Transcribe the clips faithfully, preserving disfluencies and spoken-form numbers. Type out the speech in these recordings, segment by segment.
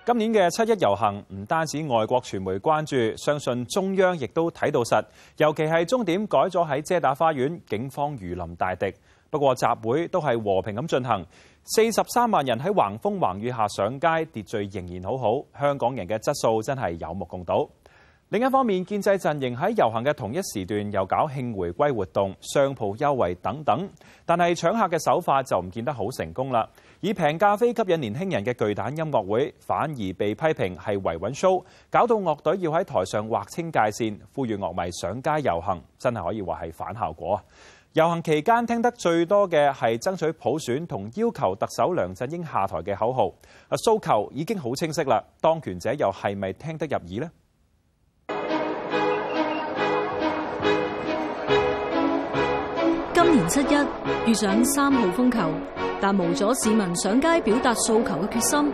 今年嘅七一遊行唔單止外國傳媒關注，相信中央亦都睇到實。尤其係終點改咗喺遮打花園，警方如臨大敵。不過集會都係和平咁進行，四十三萬人喺橫風橫雨下上街，秩序仍然好好。香港人嘅質素真係有目共睹。另一方面，建制陣營喺遊行嘅同一時段又搞慶回歸活動、商鋪優惠等等，但係搶客嘅手法就唔見得好成功啦。以平價飛吸引年輕人嘅巨蛋音樂會，反而被批評係維穩 show， 搞到樂隊要喺台上劃清界線，呼籲樂迷上街遊行，真係可以話係反效果。遊行期間聽得最多嘅係爭取普選同要求特首梁振英下台嘅口號，啊訴求已經好清晰啦，當權者又係咪聽得入耳呢？ 今年七一遇上三號風球，但無阻市民上街表達訴求嘅決心。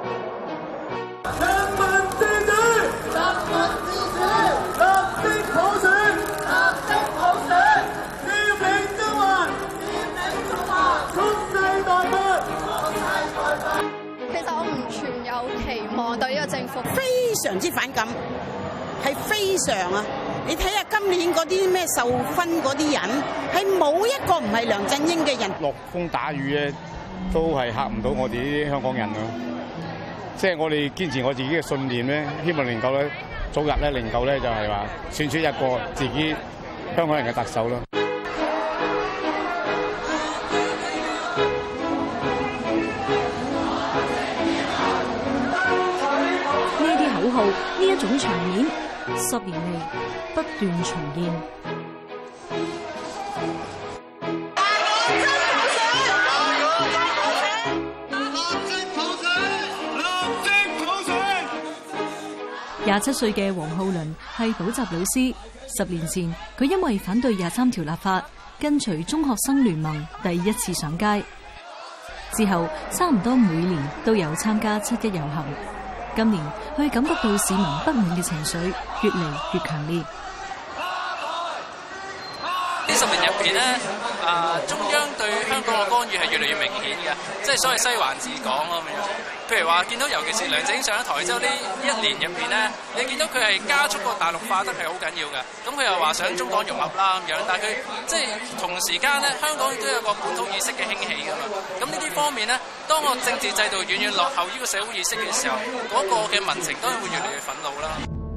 全民自主，全民自主，立即普選，立即普選，佔領中環，佔領中環，蓄勢待發，蓄勢待發。 其實我唔存有期望對呢個政府， 非常之反感，係非常啊！你睇下今年嗰啲咩受勳嗰啲人，係冇一個唔係梁振英嘅人。 落風打雨咧，都係嚇唔到我哋啲香港人咯。即係我哋堅持我自己嘅信念咧，希望能夠咧早日咧能夠咧就係話選出一個自己香港人嘅特首咯。 呢啲口號，呢一種場面，十年嚟不斷重現。廿七歲嘅黃浩倫係補習老師，十年前佢因為反對廿三條立法，跟隨中學生聯盟第一次上街，之後差唔多每年都有參加七一遊行。今年佢感覺到市民不滿嘅情緒越嚟越強烈。 呢十年入邊咧，啊中央對香港嘅干預係越嚟越明顯嘅，即係所謂西環治港咁樣。譬如話見到，尤其是梁振英上咗台之後呢一年入邊咧，你見到佢係加速個大陸化得係好緊要嘅。咁佢又話想中港融合啦咁樣，但係佢即係同時間咧，香港亦都有個本土意識嘅興起㗎嘛。咁呢啲方面咧，當個政治制度遠遠落後於個社會意識嘅時候，嗰、那個嘅民情當然會越嚟越憤怒啦。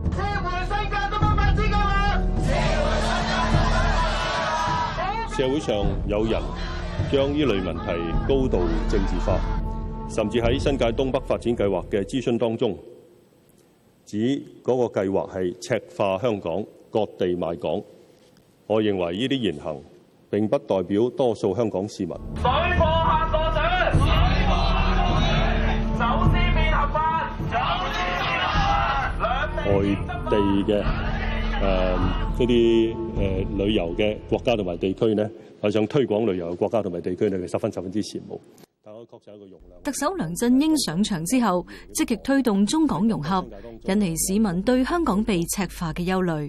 社會上有人將呢類問題高度政治化，甚至喺新界東北發展計劃嘅諮詢當中，指嗰個計劃係赤化香港、割地賣港。我認為呢啲言行並不代表多數香港市民。 水貨客過水，水貨客過水，走私變合法，走私變合法。 外地嘅誒嗰啲誒旅遊嘅國家同埋地區呢，係想推廣旅遊嘅國家同埋地區呢，佢十分十分之羨慕。但我確實有一個容量。 特首梁振英上場之後，積極推動中港融合，引嚟市民對香港被赤化嘅憂慮。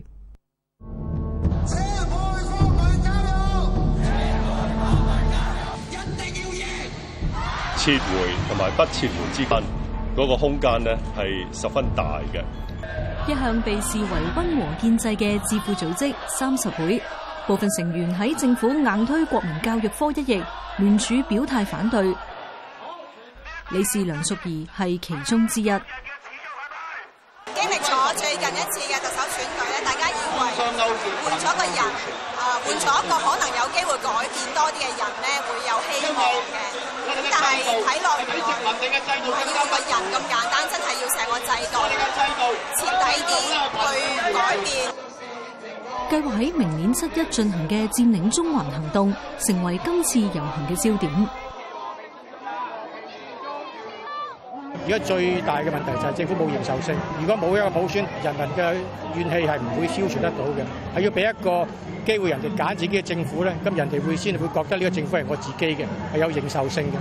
撤回同埋不撤回之間嗰個空間呢，係十分大嘅。 一向被視為溫和建制嘅智庫組織三十會，部分成員喺政府硬推國民教育科一役，聯署表態反對。理事梁淑儀係其中之一。 經歷咗最近一次嘅特首選舉咧，大家以為換咗個人，啊換咗一個可能有機會改變多啲嘅人咧，會有希望嘅。咁但係睇落原來唔係要個人咁簡單，真係要成個制度徹底啲去改變。 計劃喺明年七一進行嘅佔領中環行動，成為今次遊行嘅焦點。 而家最大嘅問題就係政府冇認受性。如果冇一個普選，人民嘅怨氣係唔會消除得到嘅。係要俾一個機會人哋揀自己嘅政府咧，咁人哋會先會覺得呢個政府係我自己嘅，係有認受性嘅。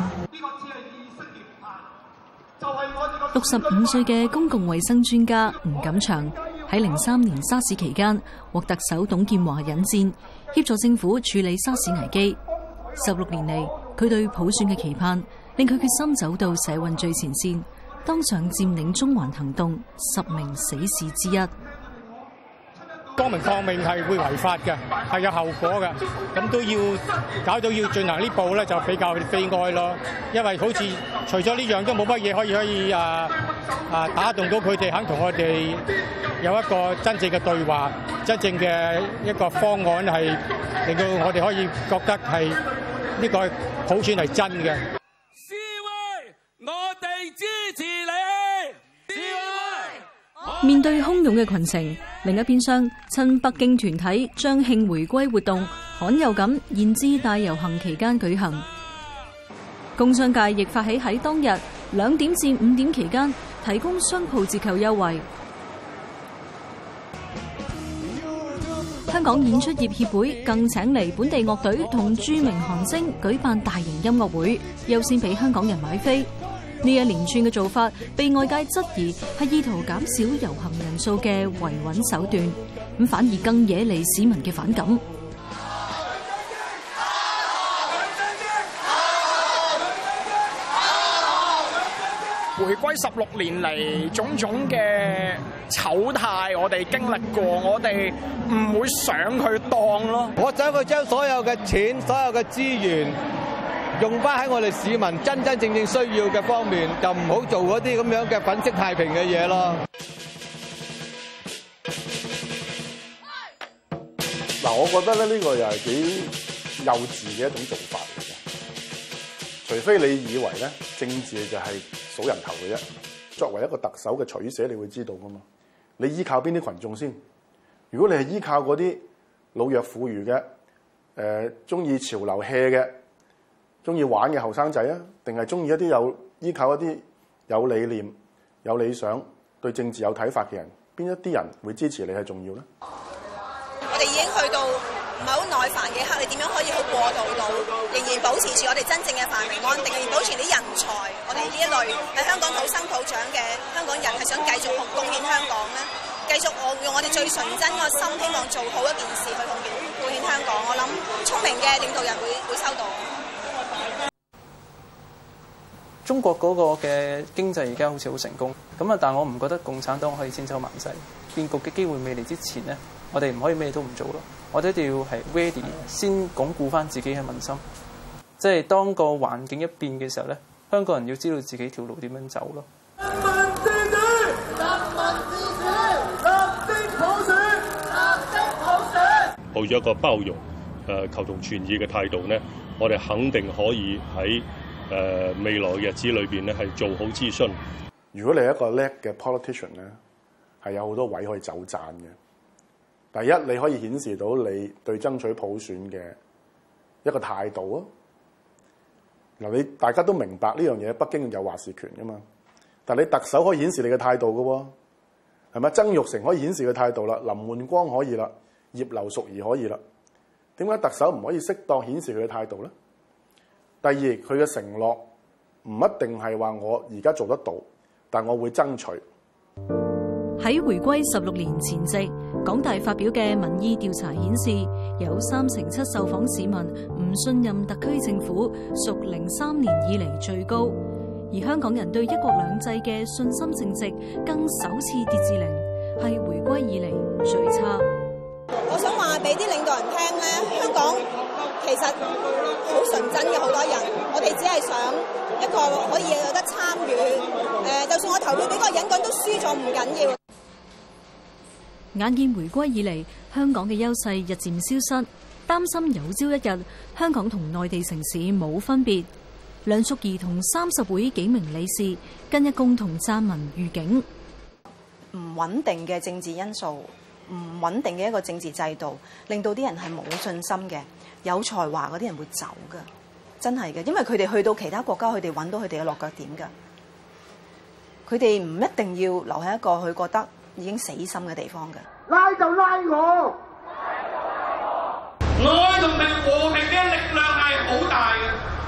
六十五歲嘅公共衛生專家吳錦祥喺零三年沙士期間獲特首董建華引薦，協助政府處理沙士危機。十六年嚟，佢對普選嘅期盼令佢決心走到社運最前線， 當上佔領中環行動十名死士之一。 光明抗命係會違法嘅，係有後果嘅，咁都要搞到要進行呢步咧，就比較悲哀咯。因為好似除咗呢樣都冇乜嘢可以可以啊啊打動到佢哋肯同我哋有一個真正嘅對話，真正嘅一個方案係令到我哋可以覺得係呢個普選係真嘅。 示威，我哋支持你！示威！ 面對洶湧嘅群情，另一邊廂，親北京團體將慶回歸活動罕有咁延至大遊行期間舉行。工商界亦發起喺當日兩點至五點期間提供商鋪折扣優惠。香港演出業協會更請嚟本地樂隊同著名韓星舉辦大型音樂會，優先俾香港人買飛。呢一連串嘅做法被外界質疑係意圖減少遊行人數嘅維穩手段，咁反而更惹嚟市民嘅反感。 回歸十六年嚟，種種嘅醜態，我哋經歷過，我哋唔會上去當咯。 我想佢將所有嘅錢、所有嘅資源用翻喺我哋市民真真正正需要嘅方面，就唔好做嗰啲咁樣嘅粉飾太平嘅嘢咯。 嗱，我覺得咧呢個又係幾幼稚嘅一種做法嚟嘅。除非你以為咧政治就係數人頭嘅啫。作為一個特首嘅取捨，你會知道噶嘛？你依靠邊啲群眾先？如果你係依靠嗰啲老弱婦孺嘅，誒中意潮流 hea 嘅，中意玩嘅後生仔啊，定係中意一啲有依靠一啲有理念、有理想、對政治有睇法嘅人？邊一啲人會支持你係重要咧？ 我哋已經去到唔係好耐煩嘅一刻，你點樣可以好過渡到，仍然保持住我哋真正嘅繁榮安定，仍然保持啲人才，我哋呢一類喺香港土生土長嘅香港人係想繼續貢獻香港咧，繼續我用我哋最純真個心，希望做好一件事去貢獻貢獻香港。我諗聰明嘅領導人會會收到。 中國嗰個嘅經濟而家好似好成功，咁啊，但我唔覺得共產黨可以千秋萬世。變局嘅機會未嚟之前呢，我哋唔可以咩都唔做咯。我哋一定要係 ready 先鞏固翻自己嘅民心。即係當個環境一變嘅時候咧，香港人要知道自己條路點樣走咯。 人民自主，人民自主，立即普選，立即普選。 抱咗一個包容、誒求同存異嘅態度呢，我哋肯定可以喺誒未來嘅日子裏邊咧係做好諮詢。 如果你係一個叻嘅 politician 咧，係有好多位可以走盞嘅。第一，你可以顯示到你對爭取普選嘅一個態度啊！嗱，你大家都明白呢樣嘢，北京有話事權噶嘛？但係你特首可以顯示你嘅態度嘅喎，係咪？曾鈺成可以顯示嘅態度啦，林煥光可以啦，葉劉淑儀可以啦。點解特首唔可以適當顯示佢嘅態度咧？第二，佢嘅承諾唔一定係話我而家做得到，但我會爭取。 喺回歸十六年前夕，港大發表嘅民意調查顯示，有三成七受訪市民唔信任特區政府，屬零三年以嚟最高。而香港人對一國兩制嘅信心淨值更首次跌至零，係回歸以嚟最差。 我想話俾啲領導人聽咧，香港其實好純真嘅好多人，我哋只係想一個可以有得參與。誒，就算我投票俾嗰個人講都輸咗唔緊要。 眼見回歸以嚟，香港嘅優勢日漸消失，擔心有朝一日香港同內地城市冇分別。梁淑儀同三十會幾名理事近日共同撰文預警： 唔穩定嘅政治因素，唔穩定嘅一個政治制度，令到啲人係冇信心嘅。有才華嗰啲人會走㗎，真係嘅，因為佢哋去到其他國家，佢哋揾到佢哋嘅落腳點㗎。佢哋唔一定要留喺一個佢覺得已經死心嘅地方嘅。 拉就拉我，愛同埋和平嘅力量係好大嘅。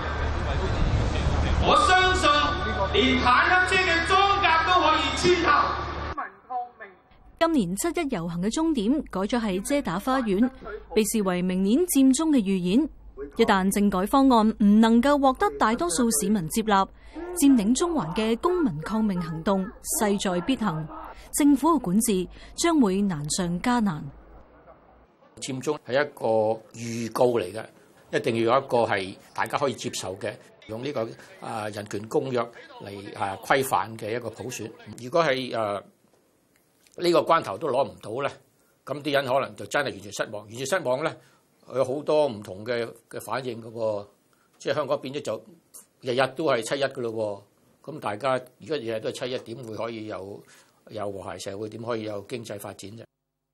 我相信連坦克車嘅裝甲都可以穿透。 今年七一遊行嘅終點改咗喺遮打花園，被視為明年佔中嘅預演。 一旦政改方案唔能夠獲得大多數市民接納，佔領中環嘅公民抗命行動勢在必行，政府嘅管治將會難上加難。 佔中係一個預告嚟嘅，一定要有一個係大家可以接受嘅，用呢個啊人權公約嚟啊規範嘅一個普選。如果係誒呢個關頭都攞唔到咧，咁啲人可能就真係完全失望。完全失望咧，有好多唔同嘅嘅反應嘅喎，即係香港變咗就日日都係七一嘅咯喎。咁大家如果日日都係七一，點會可以有有和諧社會？點可以有經濟發展啫？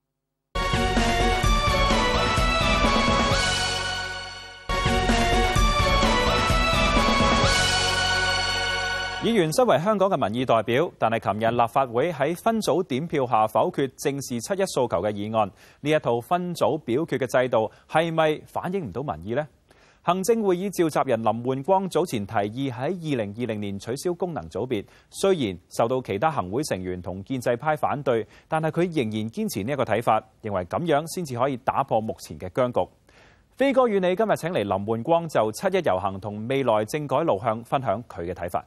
議員身為香港嘅民意代表，但係琴日立法會喺分組點票下否決正視七一訴求嘅議案，呢一套分組表決嘅制度係咪反映唔到民意呢？行政會議召集人林煥光早前提議喺二零二零年取消功能組別，雖然受到其他行會成員同建制派反對，但係佢仍然堅持呢一個睇法，認為咁樣先至可以打破目前嘅僵局。飛哥與你今日請嚟林煥光就七一遊行同未來政改路向分享佢嘅睇法。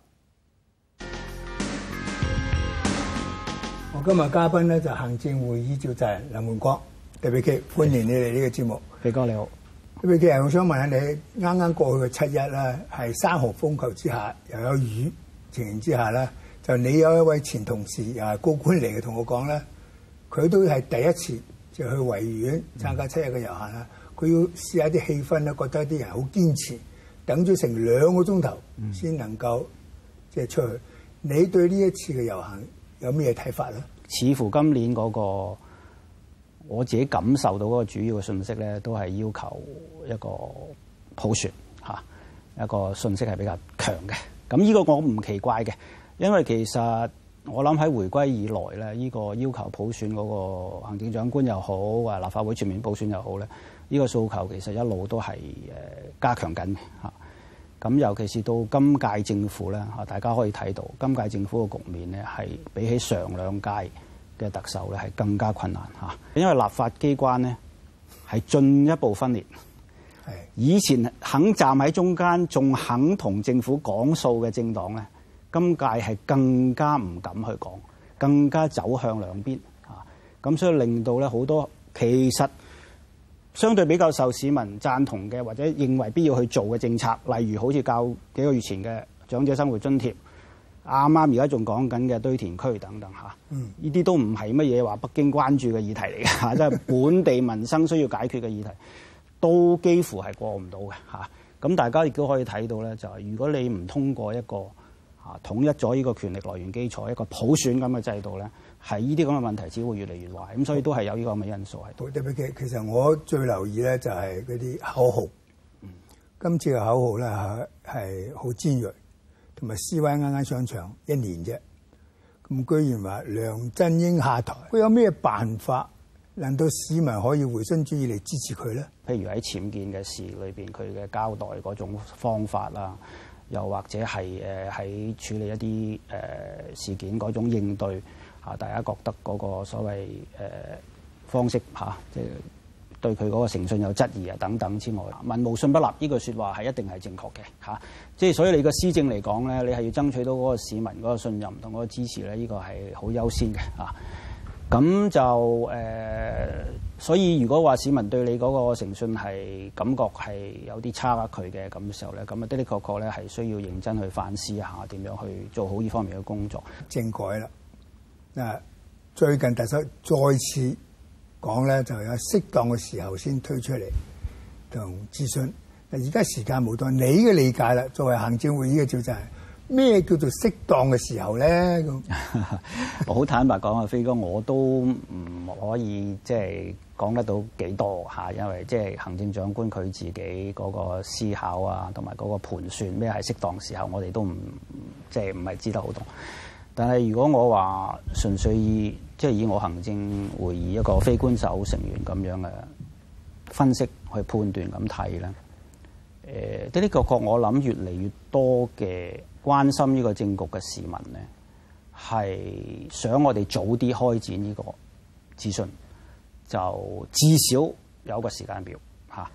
我今日嘉賓咧就行政會議召集人林煥光，特別嘅歡迎你嚟呢個節目。 飛哥你好。 特別嘅，我想問下你，啱啱過去嘅七一咧，係三號風球之下，又有雨情形之下咧，就你有一位前同事又係高官嚟嘅，同我講咧，佢都係第一次就去維園參加七一嘅遊行啦。佢、嗯、要試下啲氣氛咧，覺得啲人好堅持，等咗成兩個鐘頭先能夠即係出去。你對呢一次嘅遊行有咩睇法咧？ 似乎今年嗰、那個我自己感受到嗰個主要嘅信息咧，都係要求一個普選嚇，一個信息係比較強嘅。咁呢個我唔奇怪嘅，因為其實我諗喺回歸以來咧，呢、這個要求普選嗰個行政長官又好，或立法會全面普選又好咧，呢、這個訴求其實一路都係誒加強緊嘅嚇。咁尤其是到今屆政府咧嚇，大家可以睇到今屆政府嘅局面咧，係比起上兩屆嘅特首咧係更加困難嚇，因為立法機關咧係進一步分裂。係以前肯站喺中間，仲肯同政府講數嘅政黨咧，今屆係更加唔敢去講，更加走向兩邊嚇。咁所以令到咧好多其實相對比較受市民贊同嘅，或者認為必要去做嘅政策，例如好似較幾個月前嘅長者生活津貼，啱啱而家仲講緊嘅堆填區等等嚇，呢啲都唔係乜嘢話北京關注嘅議題嚟嘅嚇，即係本地民生需要解決嘅議題，都幾乎係過唔到嘅嚇。咁大家亦都可以睇到咧，就係如果你唔通過一個嚇統一咗呢個權力來源基礎，一個普選咁嘅制度咧，係呢啲咁嘅問題只會越嚟越壞。咁所以都係有呢個咁嘅因素喺度。特別嘅，其實我最留意咧就係嗰啲口號。嗯、今次嘅口號咧係係好尖鋭。同埋 C Y 啱啱上場一年啫，咁居然話梁振英下台，佢有咩辦法令到市民可以回心轉意嚟支持佢咧？譬如喺僭建嘅事裏邊，佢嘅交代嗰種方法啦，又或者係誒喺處理一啲誒、呃、事件嗰種應對嚇，大家覺得嗰個所謂誒、呃、方式嚇，即、啊、係。對佢嗰個誠信有質疑啊等等之外，民無信不立呢句説話係一定係正確嘅嚇，即係所以你個施政嚟講咧，你係要爭取到嗰個市民嗰個信任同嗰個支持咧，呢個係好優先嘅嚇。咁就誒、呃，所以如果話市民對你嗰個誠信係感覺係有啲差距嘅咁嘅時候咧，咁啊的的確確咧係需要認真去反思下點樣去做好呢方面嘅工作。政改啦，嗱，最近特首再次講咧就有適當嘅時候先推出嚟同諮詢。嗱，而家時間冇多，你嘅理解啦，作為行政會議嘅召集人，咩叫做適當嘅時候咧？咁我好坦白講啊，飛哥，我都唔可以即係講得到幾多嚇，因為即係行政長官佢自己嗰個思考啊，同埋嗰個盤算咩係適當時候，我哋都唔即係唔係知得好多。但係如果我話純粹以即係以我行政會議一個非官守成員咁樣嘅分析去判斷咁睇咧，誒的的確確我諗越嚟越多嘅關心呢個政局嘅市民咧，係想我哋早啲開展呢個諮詢，就至少有個時間表嚇。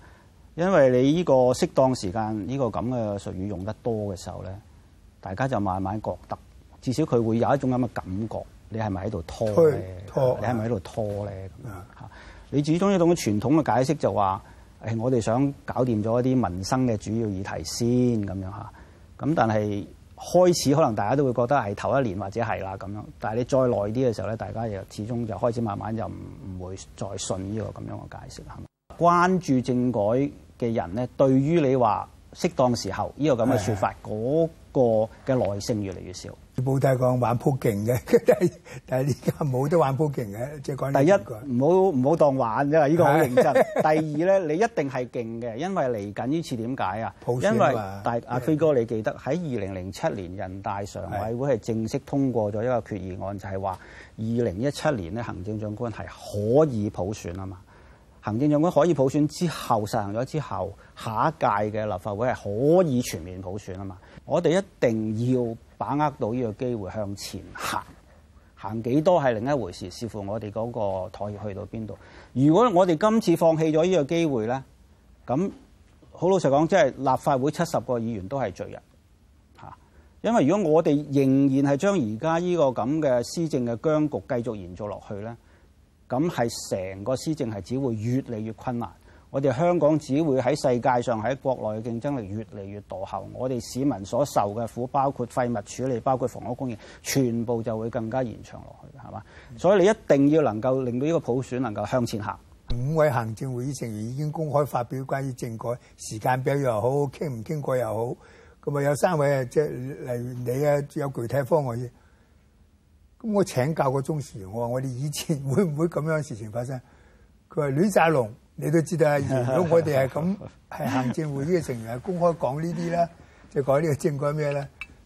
因為你呢個適當時間呢個咁嘅術語用得多嘅時候咧，大家就慢慢覺得，至少佢會有一種咁嘅感覺，你係咪喺度拖咧？拖，你係咪喺度拖咧？咁嚇，你始終一種傳統嘅解釋就話，誒，我哋想搞掂咗一啲民生嘅主要議題先咁樣嚇。咁但係開始可能大家都會覺得係頭一年或者係啦咁樣，但係你再耐啲嘅時候咧，大家又始終就開始慢慢就唔唔會再信呢個咁樣嘅解釋係嘛？關注政改嘅人咧，對於你話適當時候呢個咁嘅説法，嗰個嘅耐性越嚟越少。 報太講玩鋪勁嘅，但係但係而家冇得玩鋪勁嘅，即係講。 第一唔好唔好當玩啫，呢個好認真。第二咧，你一定係勁嘅，因為嚟緊呢次點解啊？因為大阿飛哥，你記得喺二零零七年人大常委會係正式通過咗一個決議案，就係話二零一七年咧行政長官係可以普選啊嘛。行政長官可以普選之後實行咗之後，下一屆嘅立法會係可以全面普選啊嘛。我哋一定要把握到呢個機會向前行，行幾多係另一回事，視乎我哋嗰個妥協去到邊度。如果我哋今次放棄咗呢個機會咧，咁好老實講，即係立法會七十個議員都係罪人嚇。因為如果我哋仍然係將而家呢個咁嘅施政嘅僵局繼續延續落去咧，咁係成個施政係只會越嚟越困難。我哋香港只會喺世界上喺國內嘅競爭力越嚟越墮後。我哋市民所受嘅苦，包括廢物處理，包括房屋供應，全部就會更加延長落去，係嘛？所以你一定要能夠令到呢個普選能夠向前行。 五位行政會議成員已經公開發表關於政改時間表又好，傾唔傾過又好。咁啊有三位啊，即係例如你啊，有具體方案嘅。咁我請教個中時，我話我哋以前會唔會咁樣嘅事情發生？佢話亂晒龍。你都知道啊！如果我哋係咁，係行政會議嘅成員係公開講呢啲咧，就講呢個政改咩咧？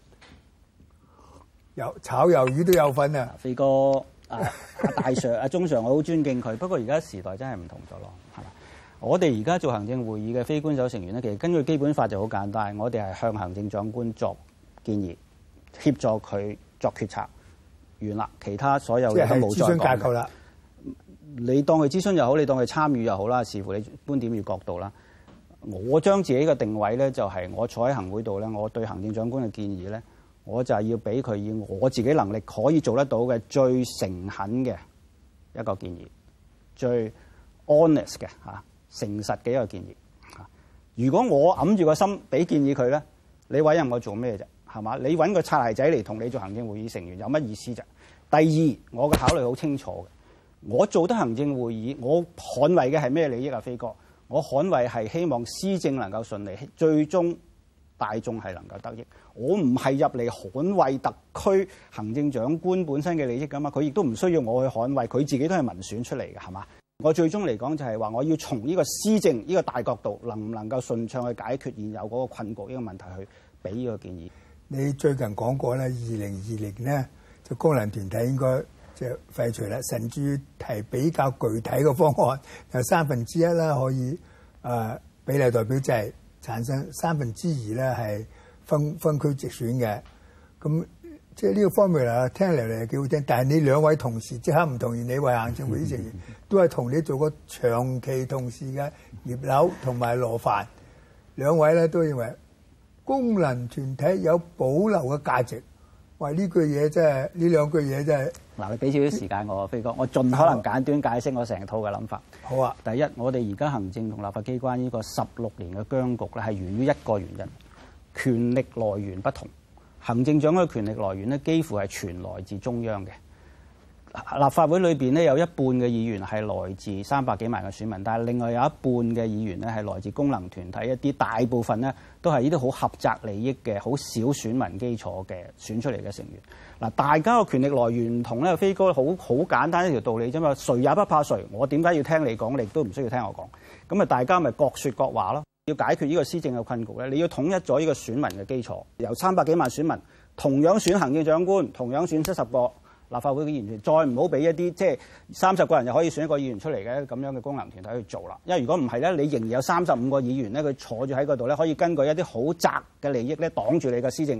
有炒魷魚都有份啊！ 飛哥啊，大 Sir 啊，鍾 Sir 我好尊敬佢。不過而家時代真係唔同咗咯，係嘛？我哋而家做行政會議嘅非官守成員咧，其實根據基本法就好簡單，我哋係向行政長官作建議，協助佢作決策，完啦，其他所有嘢都冇再講。諮詢架構啦。你當佢諮詢又好，你當佢參與又好啦，視乎你觀點與角度啦。我將自己嘅定位咧，就係我坐喺行會度咧，我對行政長官嘅建議咧，我就係要俾佢以我自己能力可以做得到嘅最誠懇嘅一個建議，最 honest 嘅嚇誠實嘅一個建議嚇。如果我揞住個心俾建議佢咧，你委任我做咩啫？係嘛？你揾個擦鞋仔嚟同你做行政會議成員有乜意思啫？第二，我嘅考慮好清楚嘅。我做得行政會議，我捍衛嘅係咩利益啊？飛哥，我捍衛係希望施政能夠順利，最終大眾係能夠得益。我唔係入嚟捍衛特區行政長官本身嘅利益㗎嘛，佢亦都唔需要我去捍衛，佢自己都係民選出嚟嘅，係嘛？我最終嚟講就係話，我要從呢個施政呢個大角度，能唔能夠順暢去解決現有嗰個困局呢個問題，去俾呢個建議。 你最近講過咧，二零二零咧就功能團體應該即係廢除啦，甚至提比較具體嘅方案，有三分之一啦可以誒、呃、比例代表制產生，三分之二咧係分分區直選嘅。咁即係呢個方面啊，聽嚟嚟係幾好聽。但係你兩位同事即刻唔同意，你為行政會議成員都係同你做過長期同事嘅葉劉同埋羅范，兩位咧都認為功能團體有保留嘅價值。喂，呢句嘢真係，呢兩句嘢真係。 嗱，你俾少少時間我，飛哥，我盡可能簡短解釋我成套嘅諗法。 好啊。 第一，我哋而家行政同立法機關呢個十六年嘅僵局咧，係源於一個原因，權力來源不同。行政長官嘅權力來源咧，幾乎係全來自中央嘅。立法會裏邊咧，有一半嘅議員係來自三百幾萬嘅選民，但係另外有一半嘅議員咧係來自功能團體，一啲大部分咧都係呢啲好狹窄利益嘅、好少選民基礎嘅選出嚟嘅成員。嗱，大家嘅權力來源唔同咧，飛哥好好簡單一條道理啫嘛，誰也不怕誰。我點解要聽你講，你亦都唔需要聽我講。咁啊，大家咪各說各話咯。要解決呢個施政嘅困局咧，你要統一咗呢個選民嘅基礎，由三百幾萬選民同樣選行政長官，同樣選七十個立法會嘅議員，再唔好俾一啲即係三十個人就可以選一個議員出嚟嘅咁樣嘅功能團體去做啦。因為如果唔係咧，你仍然有三十五個議員咧，佢坐住喺嗰度咧，可以根據一啲好窄嘅利益咧擋住你嘅施政嘅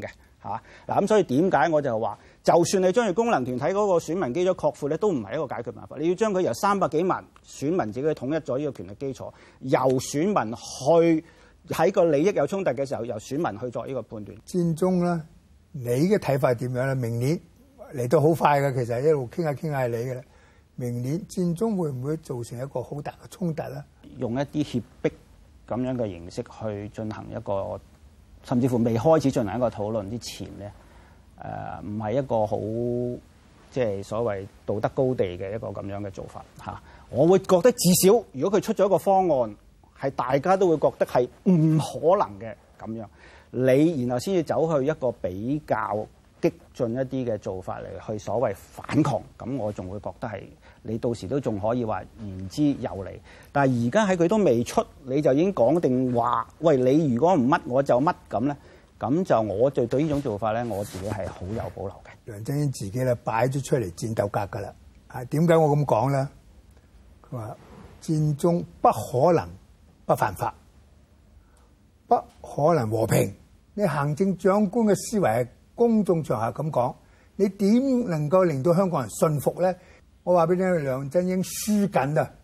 嚇。嗱咁所以點解我就話，就算你將佢功能團體嗰個選民基礎擴闊咧，都唔係一個解決辦法。你要將佢由三百幾萬選民自己統一咗呢個權力基礎，由選民去喺個利益有衝突嘅時候，由選民去作呢個判斷。 佔中咧，你嘅睇法點樣咧？明年嚟到好快嘅，其實一路傾下傾下係你嘅啦。明年佔中會唔會造成一個好大嘅衝突咧？用一啲脅迫咁樣嘅形式去進行一個，甚至乎未開始進行一個討論之前咧，誒唔係一個好即係所謂道德高地嘅一個咁樣嘅做法嚇。我會覺得至少，如果佢出咗一個方案，係大家都會覺得係唔可能嘅咁樣，你然後先至走去一個比較激進一啲嘅做法嚟去所謂反抗，咁我仲會覺得係你到時都仲可以話言之有理。但係而家喺佢都未出，你就已經講定話，喂，你如果唔乜我就乜咁咧，咁就我就對呢種做法咧，我自己係好有保留嘅。梁振英自己咧擺咗出嚟戰鬥格㗎啦，啊點解我咁講咧？佢話佔中不可能不犯法，不可能和平。你行政長官嘅思維係公眾場合咁講，你點能夠令到香港人信服咧？我話俾你聽，梁振英輸緊啊！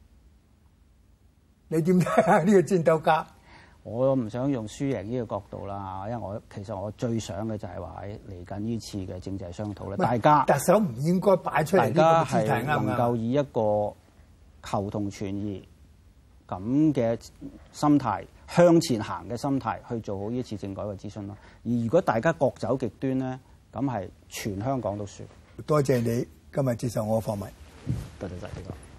你點睇下呢個戰鬥格？我唔想用輸贏呢個角度啦，因為我其實我最想嘅就係話喺嚟緊呢次嘅政制商討咧，大家特首唔應該擺出嚟呢個姿態，啱唔啱？能夠以一個求同存異咁嘅心態向前行嘅心態去做好呢次政改嘅諮詢咯。而如果大家各走極端咧，咁係全香港都輸。多謝你今日接受我嘅訪問。多謝晒呢個。